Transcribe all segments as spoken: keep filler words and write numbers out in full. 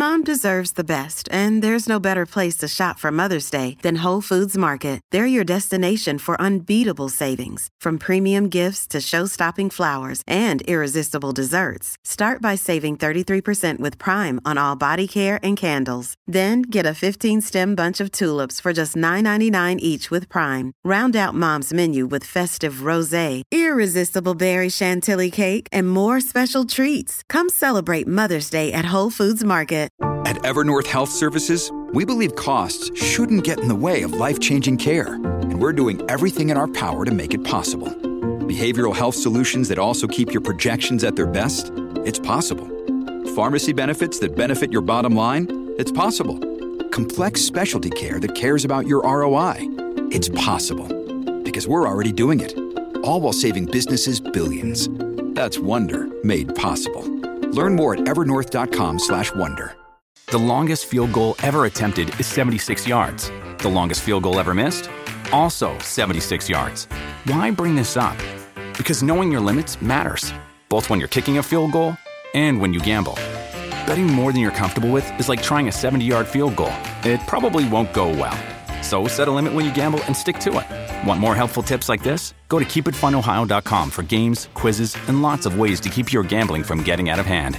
Mom deserves the best, and there's no better place to shop for Mother's Day than Whole Foods Market. They're your destination for unbeatable savings, from premium gifts to show-stopping flowers and irresistible desserts. Start by saving thirty-three percent with Prime on all body care and candles. Then get a fifteen-stem bunch of tulips for just nine ninety-nine each with Prime. Round out Mom's menu with festive rosé, irresistible berry chantilly cake, and more special treats. Come celebrate Mother's Day at Whole Foods Market. At Evernorth Health Services, we believe costs shouldn't get in the way of life-changing care, and we're doing everything in our power to make it possible. Behavioral health solutions that also keep your projections at their best? It's possible. Pharmacy benefits that benefit your bottom line? It's possible. Complex specialty care that cares about your R O I? It's possible. Because we're already doing it. All while saving businesses billions. That's Wonder made possible. Learn more at evernorth.com slash wonder. The longest field goal ever attempted is seventy-six yards. The longest field goal ever missed? Also seventy-six yards. Why bring this up? Because knowing your limits matters, both when you're kicking a field goal and when you gamble. Betting more than you're comfortable with is like trying a seventy-yard field goal. It probably won't go well. So set a limit when you gamble and stick to it. Want more helpful tips like this? Go to keep it fun ohio dot com for games, quizzes, and lots of ways to keep your gambling from getting out of hand.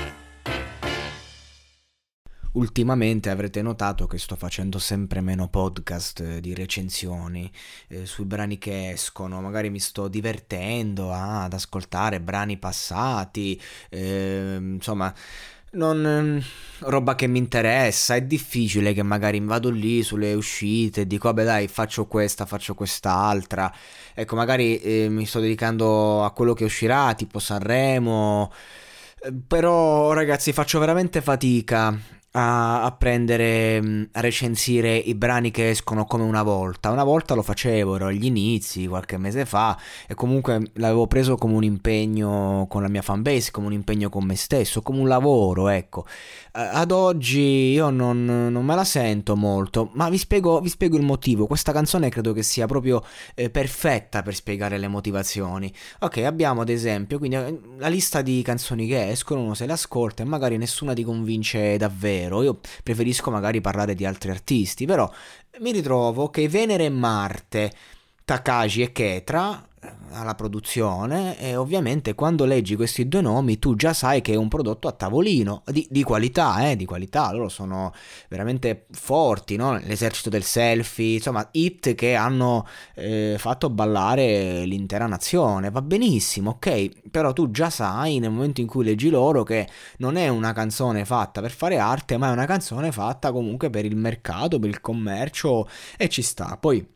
Ultimamente avrete notato che sto facendo sempre meno podcast di recensioni eh, sui brani che escono. Magari mi sto divertendo ah, ad ascoltare brani passati, eh, insomma non roba che mi interessa. È difficile che magari mi vado lì sulle uscite e dico vabbè dai, faccio questa, faccio quest'altra. Ecco, magari eh, mi sto dedicando a quello che uscirà, tipo Sanremo, eh, però ragazzi faccio veramente fatica A, a prendere, a recensire i brani che escono come una volta. Una volta lo facevo, ero agli inizi, qualche mese fa, e comunque l'avevo preso come un impegno con la mia fanbase, come un impegno con me stesso, come un lavoro, ecco. Ad oggi io non, non me la sento molto, ma vi spiego, vi spiego il motivo. Questa canzone credo che sia proprio eh, perfetta per spiegare le motivazioni. Ok, abbiamo ad esempio quindi la lista di canzoni che escono, uno se le ascolta e magari nessuna ti convince davvero. Io preferisco magari parlare di altri artisti, però mi ritrovo che Venere e Marte, Takashi e Ketra alla produzione, e ovviamente quando leggi questi due nomi tu già sai che è un prodotto a tavolino di, di qualità, eh, di qualità. Loro sono veramente forti, no? L'esercito del selfie, insomma hit che hanno eh, fatto ballare l'intera nazione, va benissimo, ok, però tu già sai nel momento in cui leggi loro che non è una canzone fatta per fare arte, ma è una canzone fatta comunque per il mercato, per il commercio, e ci sta. Poi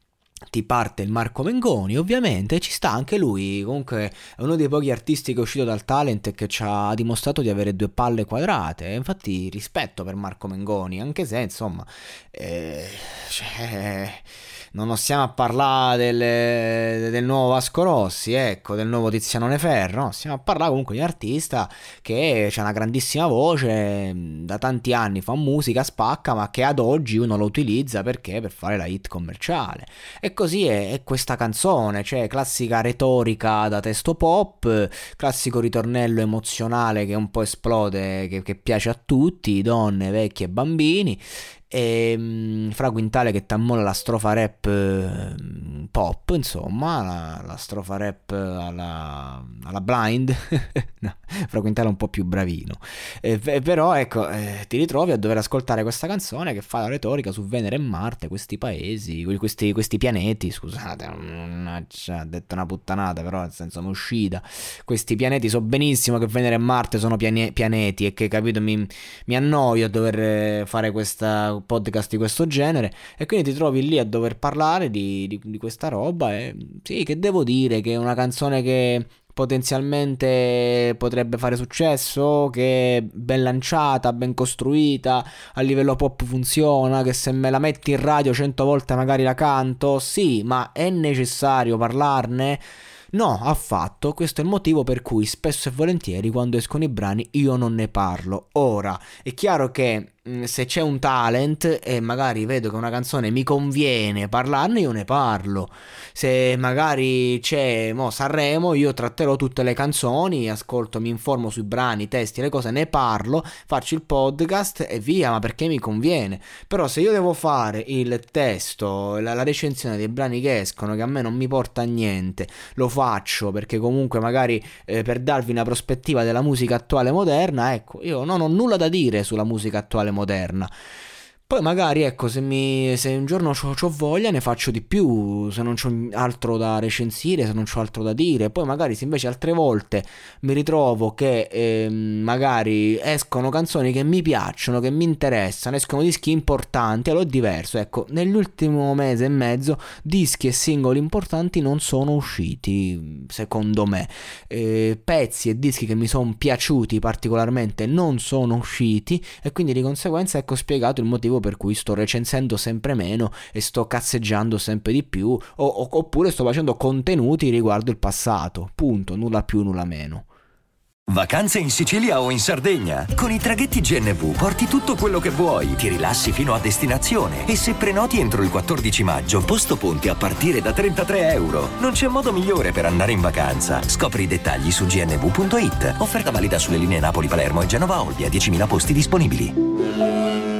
ti parte il Marco Mengoni, ovviamente ci sta anche lui, comunque è uno dei pochi artisti che è uscito dal talent e che ci ha dimostrato di avere due palle quadrate. Infatti rispetto per Marco Mengoni, anche se insomma eh, cioè, non stiamo a parlare del, del nuovo Vasco Rossi, ecco, del nuovo Tiziano Neferro, no? Stiamo a parlare comunque di un artista che ha una grandissima voce, da tanti anni fa musica, spacca, ma che ad oggi uno lo utilizza perché per fare la hit commerciale. E così è, è questa canzone, cioè classica retorica da testo pop, classico ritornello emozionale che un po' esplode, che, che piace a tutti, donne, vecchi e bambini. E um, Fra Quintale che t'ammola la strofa rap uh, pop, insomma la, la strofa rap alla, alla Blind. No, Fra Quintale è un po' più bravino, eh, però ecco eh, ti ritrovi a dover ascoltare questa canzone che fa la retorica su Venere e Marte, questi paesi, questi, questi pianeti, scusate, ha detto una puttanata, però nel senso mi è uscita. Questi pianeti, so benissimo che Venere e Marte sono piane- pianeti e che, capito, mi, mi annoio a dover fare questa podcast di questo genere, e quindi ti trovi lì a dover parlare di, di, di questa roba. E sì, che devo dire, che è una canzone che potenzialmente potrebbe fare successo, che è ben lanciata, ben costruita, a livello pop funziona, che se me la metti in radio cento volte magari la canto, sì, ma è necessario parlarne? No, affatto. Questo è il motivo per cui spesso e volentieri quando escono i brani io non ne parlo. Ora, è chiaro che se c'è un talent e magari vedo che una canzone mi conviene parlarne, io ne parlo. Se magari c'è mo Sanremo, io tratterò tutte le canzoni, ascolto, mi informo sui brani, i testi, le cose, ne parlo, faccio il podcast e via, ma perché mi conviene. Però se io devo fare il testo, la, la recensione dei brani che escono, che a me non mi porta a niente, lo faccio perché comunque magari eh, per darvi una prospettiva della musica attuale moderna, ecco, io non ho nulla da dire sulla musica attuale moderna. Poi magari, ecco, se, mi, se un giorno c'ho, c'ho voglia ne faccio di più, se non c'ho altro da recensire, se non c'ho altro da dire. Poi magari se invece altre volte mi ritrovo che eh, magari escono canzoni che mi piacciono, che mi interessano, escono dischi importanti, allora è diverso. Ecco, nell'ultimo mese e mezzo dischi e singoli importanti non sono usciti, secondo me. Eh, pezzi e dischi che mi sono piaciuti particolarmente non sono usciti, e quindi di conseguenza ecco spiegato il motivo per cui sto recensendo sempre meno e sto cazzeggiando sempre di più, o, o, oppure sto facendo contenuti riguardo il passato, punto, nulla più, nulla meno. Vacanze in Sicilia o in Sardegna? Con i traghetti G N V porti tutto quello che vuoi, ti rilassi fino a destinazione, e se prenoti entro il quattordici maggio, posto ponti a partire da trentatré euro. Non c'è modo migliore per andare in vacanza. Scopri i dettagli su g n v punto i t. Offerta valida sulle linee Napoli-Palermo e Genova-Olbia, diecimila posti disponibili.